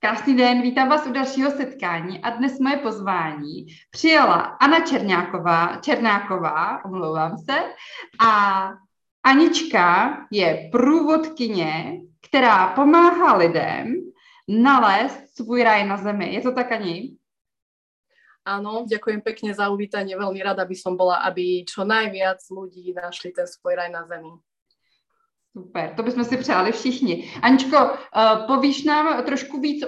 Krásný den, vítám vás u dalšího setkání a dnes moje pozvání přijala Anna Černáková, omlouvám se, a Anička je průvodkyně, která pomáhá lidem nalézt svůj raj na zemi. Je to tak, Ani? Áno, ďakujem pekne za uvítanie. Veľmi rada by som bola, aby čo najviac ľudí našli ten svoj raj na zemi. Super, to bychom si přáli všichni. Aničko, povíš nám trošku víc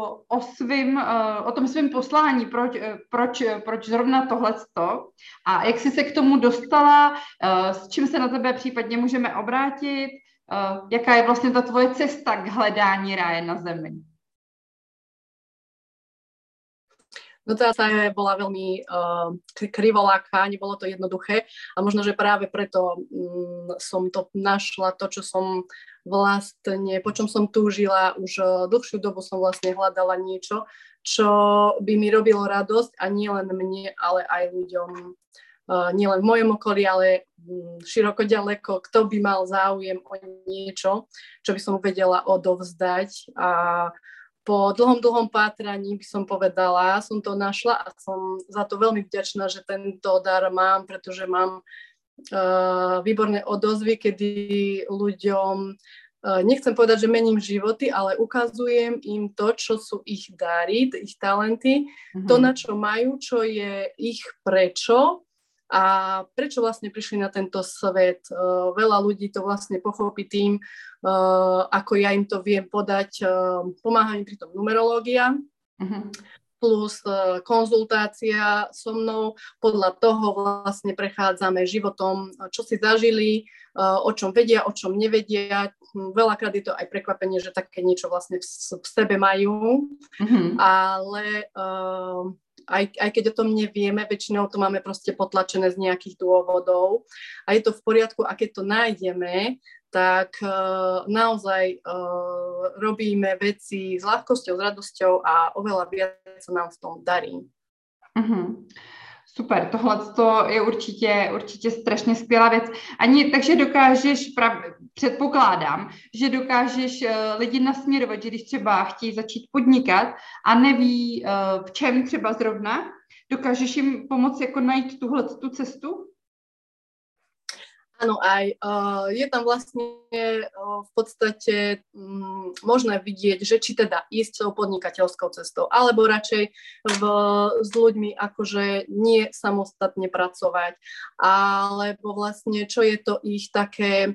o tom svém poslání, proč zrovna tohleto a jak jsi se k tomu dostala, s čím se na tebe případně můžeme obrátit, jaká je vlastně ta tvoje cesta k hledání ráje na zemi? No tá bola veľmi krivoláka, nebolo to jednoduché a možno, že práve preto som to našla, to, čo som vlastne, po čom som túžila, už dlhšiu dobu som vlastne hľadala niečo, čo by mi robilo radosť a nielen mne, ale aj ľuďom, nielen v mojom okolí, ale široko ďaleko, kto by mal záujem o niečo, čo by som vedela odovzdať a po dlhom pátraní by som povedala, som to našla a som za to veľmi vďačná, že tento dar mám, pretože mám výborné odozvy, kedy ľuďom, nechcem povedať, že mením životy, ale ukazujem im to, čo sú ich dary, ich talenty, to, na čo majú, čo je ich prečo a prečo vlastne prišli na tento svet. Veľa ľudí to vlastne pochopí tým, ako ja im to viem podať. Pomáha im pri tom numerológia, plus konzultácia so mnou. Podľa toho vlastne prechádzame životom, čo si zažili, o čom vedia, o čom nevedia. Veľakrát je to aj prekvapenie, že také niečo vlastne v sebe majú, ale aj keď o tom nevieme, väčšinou to máme proste potlačené z nejakých dôvodov a je to v poriadku a keď to nájdeme, tak naozaj robíme veci s ľahkosťou, s radosťou a oveľa viac sa nám v tom darí. Super, tohle je určitě strašně skvělá věc. Ani, takže dokážeš, předpokládám, že dokážeš lidi nasměrovat, že když třeba chtějí začít podnikat a neví, v čem třeba zrovna, dokážeš jim pomoct jako najít tu cestu? Áno, aj je tam vlastne v podstate možné vidieť, že či teda ísť tou podnikateľskou cestou, alebo radšej s ľuďmi akože nie samostatne pracovať, alebo vlastne čo je to ich také,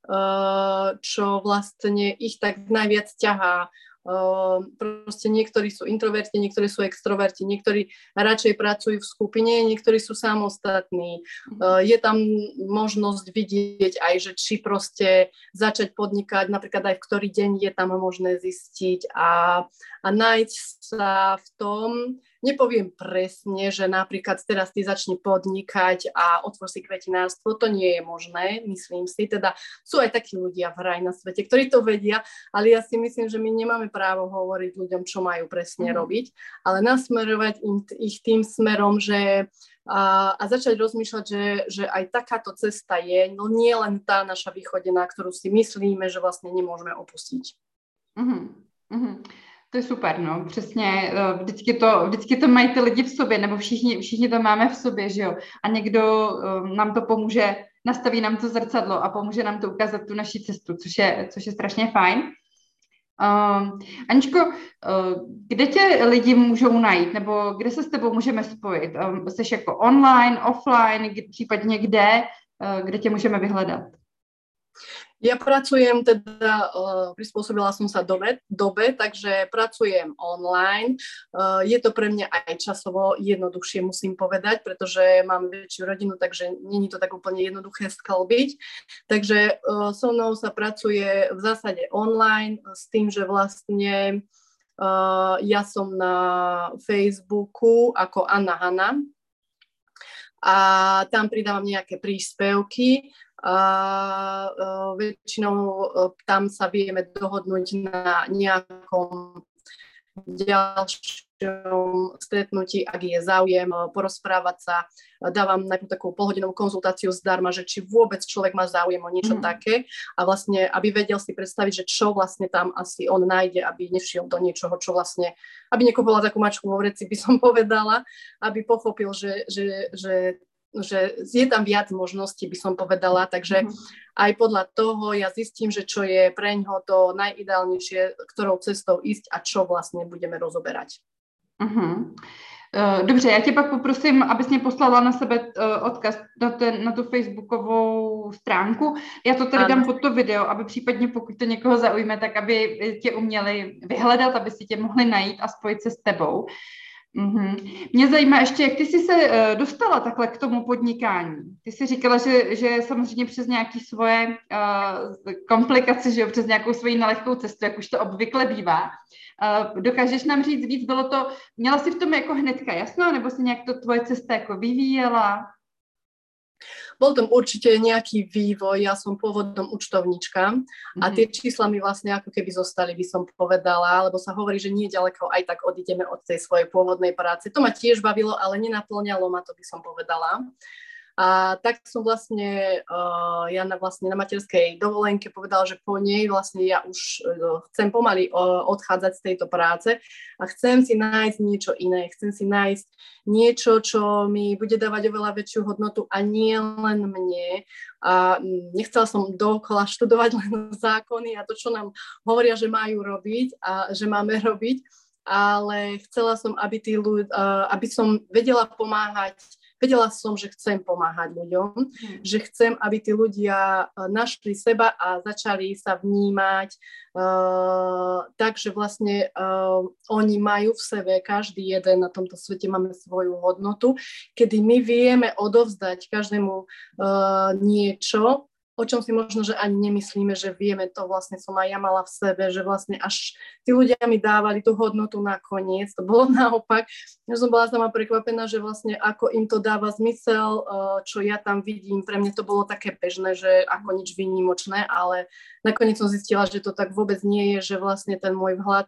čo vlastne ich tak najviac ťahá. Proste niektorí sú introverti, niektorí sú extroverti, niektorí radšej pracujú v skupine, niektorí sú samostatní. Je tam možnosť vidieť aj, že či proste začať podnikať, napríklad aj v ktorý deň je tam možné zistiť a nájsť sa v tom. Nepoviem presne, že napríklad teraz ty začni podnikať a otvor si kvetinárstvo, to nie je možné, myslím si. Teda sú aj takí ľudia v raj na svete, ktorí to vedia, ale ja si myslím, že my nemáme právo hovoriť ľuďom, čo majú presne robiť, ale nasmerovať ich tým smerom, že a začať rozmýšľať, že aj takáto cesta je, no nie len tá naša východená, ktorú si myslíme, že vlastne nemôžeme opustiť. To je super, no, přesně, vždycky to mají ty lidi v sobě, nebo všichni to máme v sobě, že jo, a někdo nám to pomůže, nastaví nám to zrcadlo a pomůže nám to ukázat tu naši cestu, což je strašně fajn. Aničko, kde tě lidi můžou najít, nebo kde se s tebou můžeme spojit? Jsi jako online, offline, případně kde tě můžeme vyhledat? Ja pracujem teda, prispôsobila som sa dobe, takže pracujem online. Je to pre mňa aj časovo jednoduchšie, musím povedať, pretože mám väčšiu rodinu, takže nie je to tak úplne jednoduché sklbiť. Takže so mnou sa pracuje v zásade online s tým, že vlastne ja som na Facebooku ako Anna Hanna a tam pridávam nejaké príspevky, a väčšinou tam sa vieme dohodnúť na nejakom ďalšom stretnutí, ak je záujem porozprávať sa. Dávam najprv takú polhodinovú konzultáciu zdarma, že či vôbec človek má záujem o niečo také a vlastne, aby vedel si predstaviť, že čo vlastne tam asi on nájde, aby nešiel do niečoho, čo vlastne, aby nekúpila takú mačku vo vreci, by som povedala, aby pochopil, že je tam viac možností, by som povedala, takže aj podľa toho ja zistím, že čo je preňho to najideálnejšie, ktorou cestou ísť a čo vlastne budeme rozoberať. Dobře, já tě pak poprosím, abys mě poslala na sebe odkaz na tu facebookovou stránku. Já to tady dám pod to video, aby případně, pokud to někoho zaujme, tak aby tě uměli vyhledat, aby si tě mohli najít a spojit se s tebou. Mě zajímá ještě, jak ty jsi se dostala takhle k tomu podnikání. Ty jsi říkala, že samozřejmě přes nějaké svoje komplikace, že jo, přes nějakou svoji nelehkou cestu, jak už to obvykle bývá. Dokážeš nám říct víc, měla jsi v tom jako hnedka jasno, nebo si nějak to tvoje cesta jako vyvíjela? Bol tam určite nejaký vývoj, ja som pôvodom účtovníčka a tie čísla mi vlastne ako keby zostali, by som povedala, lebo sa hovorí, že nie ďaleko aj tak odídeme od tej svojej pôvodnej práce. To ma tiež bavilo, ale nenaplňalo ma to, by som povedala. A tak som vlastne, ja na materskej dovolenke povedala, že po nej vlastne ja už chcem pomaly odchádzať z tejto práce a chcem si nájsť niečo iné, chcem si nájsť niečo, čo mi bude dávať oveľa väčšiu hodnotu a nie len mne. A nechcela som dookola študovať len zákony a to, čo nám hovoria, že majú robiť a že máme robiť, ale chcela som, aby som vedela pomáhať. Vedela som, že chcem pomáhať ľuďom, že chcem, aby tí ľudia našli seba a začali sa vnímať tak, že vlastne oni majú v sebe, každý jeden na tomto svete máme svoju hodnotu, kedy my vieme odovzdať každému niečo, o čom si možno, že ani nemyslíme, že vieme, to vlastne som aj ja mala v sebe, že vlastne až tí ľudia mi dávali tú hodnotu nakoniec. To bolo naopak. Ja som bola sama prekvapená, že vlastne ako im to dáva zmysel, čo ja tam vidím. Pre mňa to bolo také bežné, že ako nič výnimočné, ale nakoniec som zistila, že to tak vôbec nie je, že vlastne ten môj vhľad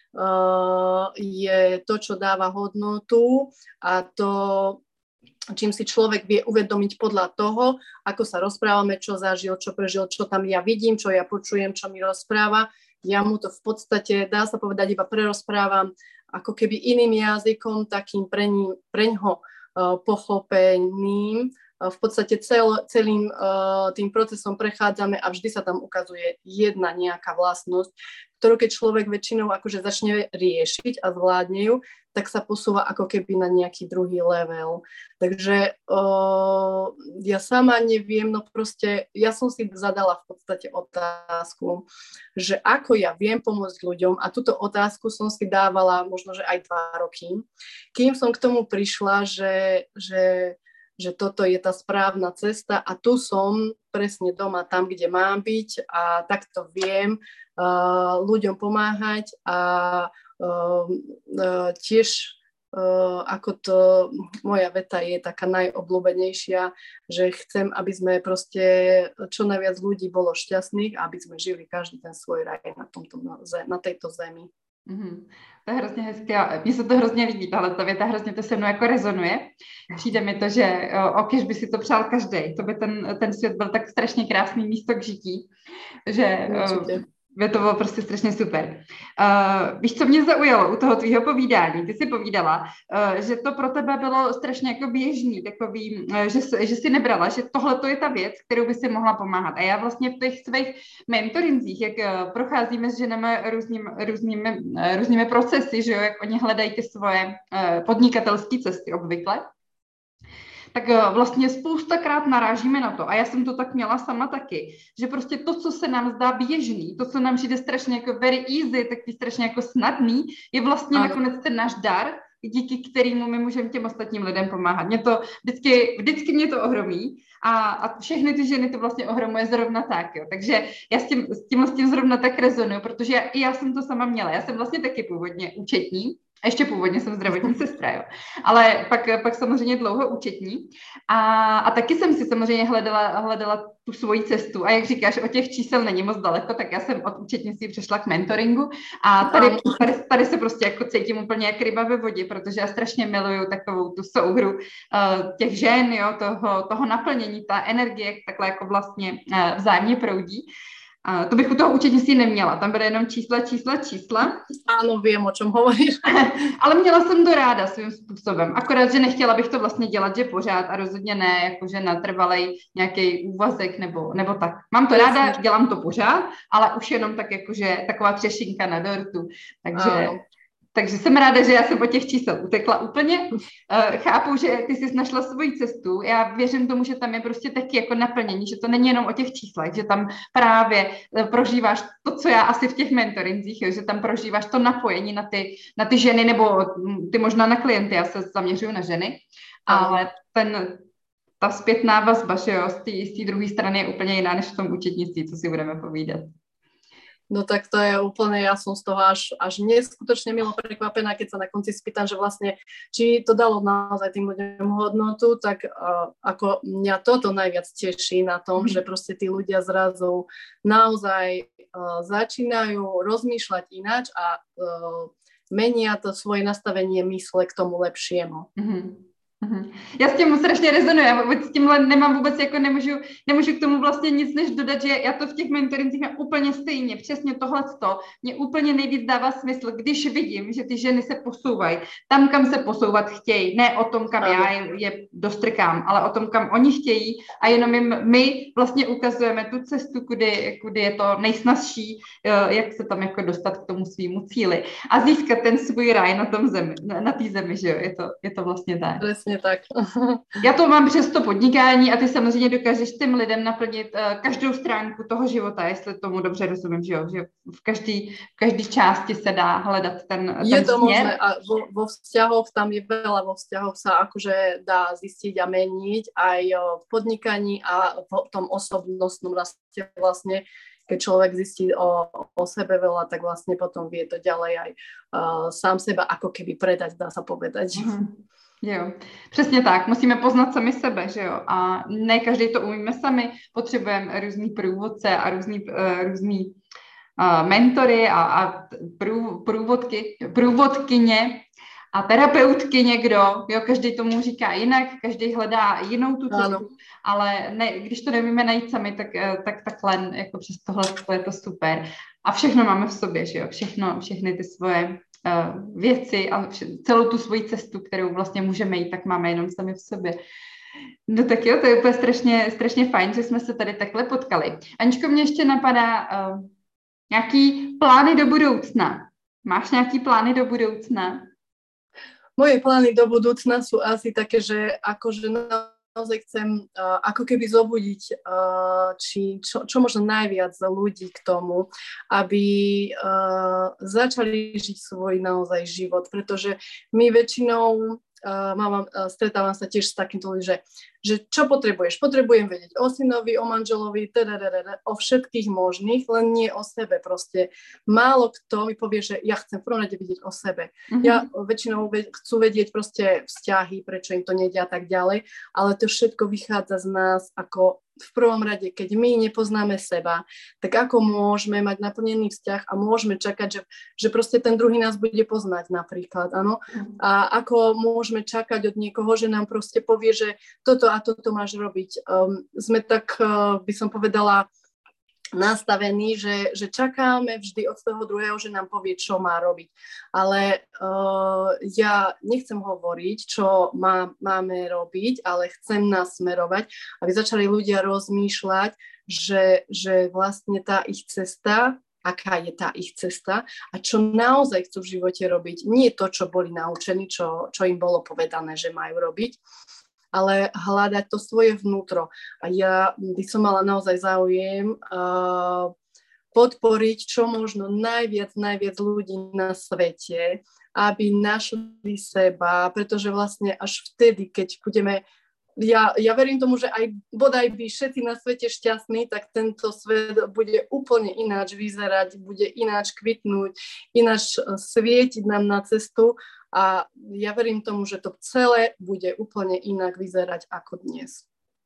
je to, čo dáva hodnotu a to, čím si človek vie uvedomiť podľa toho, ako sa rozprávame, čo zažil, čo prežil, čo tam ja vidím, čo ja počujem, čo mi rozpráva. Ja mu to v podstate, dá sa povedať, iba prerozprávam ako keby iným jazykom, takým preňho pochopeným. V podstate celým tým procesom prechádzame a vždy sa tam ukazuje jedna nejaká vlastnosť, ktorú keď človek väčšinou akože začne riešiť a zvládne ju, tak sa posúva ako keby na nejaký druhý level. Takže ja sama neviem, no proste ja som si zadala v podstate otázku, že ako ja viem pomôcť ľuďom a túto otázku som si dávala možno, že aj 2 roky, kým som k tomu prišla, že toto je tá správna cesta a tu som presne doma tam, kde mám byť a takto viem ľuďom pomáhať a tiež ako to moja veta je taká najobľúbenejšia, že chcem, aby sme proste čo najviac ľudí bolo šťastných a aby sme žili každý ten svoj raj na tejto zemi. To je hrozně hezké. Mně se to hrozně líbí, tahle věta, hrozně to se mnou jako rezonuje. Přijde mi to, že okéž by si to přál každý. To by ten svět byl tak strašně krásný místo k žití, že by to bylo prostě strašně super. Víš, co mě zaujalo u toho tvýho povídání? Ty jsi povídala, že to pro tebe bylo strašně jako běžný, takový, že jsi nebrala, že tohle to je ta věc, kterou by si mohla pomáhat. A já vlastně v těch svých mentoringcích, jak procházíme s ženami různými procesy, že jo, jak oni hledají ty svoje podnikatelské cesty obvykle, tak vlastně spoustakrát narážíme na to, a já jsem to tak měla sama taky, že prostě to, co se nám zdá běžný, to, co nám přijde strašně jako very easy, taky strašně jako snadný, je vlastně nakonec ten náš dar, díky kterému my můžeme těm ostatním lidem pomáhat. Mě to vždycky mě to ohromí a všechny ty ženy to vlastně ohromuje zrovna tak, jo. Takže já s tím zrovna tak rezonuju, protože já jsem to sama měla. Já jsem vlastně taky původně účetní, A ještě původně jsem zdravotní sestra, jo. Ale pak samozřejmě dlouho účetní. A taky jsem si samozřejmě hledala tu svoji cestu. A jak říkáš, od těch čísel není moc daleko, tak já jsem od účetnictví přešla k mentoringu. A tady se prostě jako cítím úplně jak ryba ve vodě, protože já strašně miluju takovou tu souhru těch žen, jo, toho naplnění, ta energie takhle jako vlastně vzájemně proudí. To bych u toho účetnictví neměla, tam byly jenom čísla. Áno, viem, o čom hovoríš. Ale měla jsem to ráda svým způsobem, akorát, že nechtěla bych to vlastně dělat, že pořád a rozhodně ne, jakože natrvalej nějaký úvazek nebo tak. Mám to ráda, dělám to pořád, ale už jenom tak jakože taková třešinka na dortu, takže jsem ráda, že já jsem od těch čísel utekla úplně. Chápu, že ty jsi našla svoji cestu. Já věřím tomu, že tam je prostě taky jako naplnění, že to není jenom o těch číslech, že tam právě prožíváš to, co já asi v těch mentorinzích, že tam prožíváš to napojení na ty ženy, nebo ty možná na klienty, já se zaměřuju na ženy, ale ta zpětná vazba, že jo, z té druhé strany je úplně jiná, než v tom účetnictví, co si budeme povídat. No tak to je úplne, ja som z toho až neskutočne milo prekvapená, keď sa na konci spýtam, že vlastne, či to dalo naozaj tým ľuďom hodnotu, tak ako mňa toto najviac teší na tom, že proste tí ľudia zrazu naozaj začínajú rozmýšľať ináč a menia to svoje nastavenie mysle k tomu lepšiemu. Já s tím strašně rezonuji, já s tímhle nemám vůbec, jako nemůžu k tomu vlastně nic než dodat, že já to v těch mentorincích mám úplně stejně, přesně tohleto, mě úplně nejvíc dává smysl, když vidím, že ty ženy se posouvají tam, kam se posouvat chtějí, ne o tom, kam já je dostrkám, ale o tom, kam oni chtějí a jenom jim my vlastně ukazujeme tu cestu, kudy je to nejsnazší, jak se tam jako dostat k tomu svýmu cíli a získat ten svůj ráj na té zemi, že jo, je to vlastně tak. Přesně tak. Já to mám přes to podnikání a ty samozřejmě dokážeš těm lidem naplnit každou stránku toho života, jestli tomu dobře rozumím, že jo, že v každý části se dá hledat ten je to směr. možné a vo vzťahoch tam je veľa, vo vzťahoch sa akože dá zistiť a meniť aj v podnikaní a v tom osobnostnom raste vlastne, keď človek zistí o sebe veľa, tak vlastne potom vie to ďalej aj sám seba ako keby predať, dá sa povedať. Jo, přesně tak. Musíme poznat sami sebe, že jo. A ne každý to umíme sami. Potřebujeme různý průvodce a různý mentory a průvodkyně a terapeutky někdo. Jo, každý tomu říká jinak, každý hledá jinou tu cestu. Ale ne, když to nevíme najít sami, tak takhle jako přes tohle je to super. A všechno máme v sobě, že jo. Všechny ty svoje věci a celou tu svoji cestu, kterou vlastně můžeme jít, tak máme jenom sami v sobě. No tak jo, to je úplně strašně fajn, že jsme se tady takhle potkali. Aničko, mě ještě napadá nějaký plány do budoucna. Máš nějaký plány do budoucna? Moje plány do budúcna sú asi také, že akože naozaj chcem ako keby zobudiť čo možno najviac ľudí k tomu, aby začali žiť svoj naozaj život, pretože my väčšinou stretávam sa tiež s takýmto ľuďmi, že čo potrebuješ? Potrebujem vedieť o synovi, o manželovi, o všetkých možných, len nie o sebe proste. Málo kto mi povie, že ja chcem v prvom rade vidieť o sebe. Ja väčšinou chcú vedieť proste vzťahy, prečo im to nejde a tak ďalej, ale to všetko vychádza z nás ako v prvom rade, keď my nepoznáme seba, tak ako môžeme mať naplnený vzťah a môžeme čakať, že proste ten druhý nás bude poznať napríklad, áno? A ako môžeme čakať od niekoho, že nám proste povie, že toto a toto máš robiť. Sme tak, by som povedala, nastavení, že čakáme vždy od toho druhého, že nám povie, čo má robiť. Ale ja nechcem hovoriť, čo máme robiť, ale chcem nás smerovať, aby začali ľudia rozmýšľať, že vlastne tá ich cesta, aká je tá ich cesta a čo naozaj chcú v živote robiť. Nie to, čo boli naučení, čo im bolo povedané, že majú robiť, ale hľadať to svoje vnútro. A ja by som mala naozaj záujem podporiť čo možno najviac ľudí na svete, aby našli seba, pretože vlastne až vtedy, keď budeme Ja verím tomu, že aj bodaj by všetci na svete šťastní, tak tento svet bude úplne ináč vyzerať, bude ináč kvitnúť, ináč svietiť nám na cestu a ja verím tomu, že to celé bude úplne inak vyzerať ako dnes.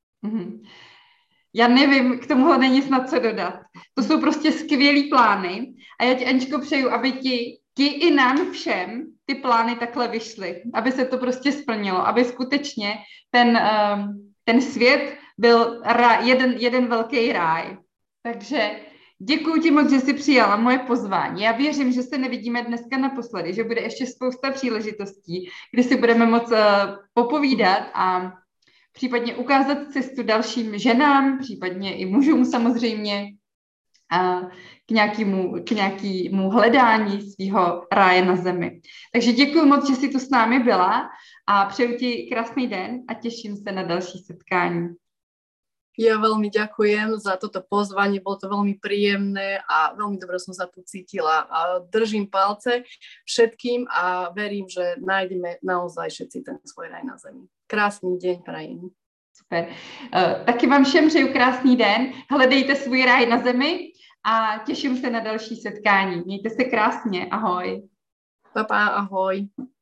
Já nevím, k tomuhle není snad co dodat. To jsou prostě skvělý plány a já ti, Aničko, přeju, aby ti i nám všem ty plány takhle vyšly, aby se to prostě splnilo, aby skutečně ten svět byl jeden velký ráj. Takže děkuji ti moc, že jsi přijala moje pozvání. Já věřím, že se nevidíme dneska naposledy, že bude ještě spousta příležitostí, kdy si budeme moc popovídat a případně ukázat cestu dalším ženám, případně i mužům samozřejmě, k nějakému hledání svého ráje na zemi. Takže děkuji moc, že jsi tu s námi byla a přeju ti krásný den a těším se na další setkání. Ja veľmi ďakujem za toto pozvanie, bolo to veľmi príjemné a veľmi dobre som sa tu cítila. A držím palce všetkým a verím, že nájdeme naozaj všetci ten svoj raj na zemi. Krásný deň prajem. Super. Taky vám všem přeju krásný den, hledejte svůj ráj na zemi a těším se na další setkání. Mějte se krásně, ahoj. Pa, ahoj.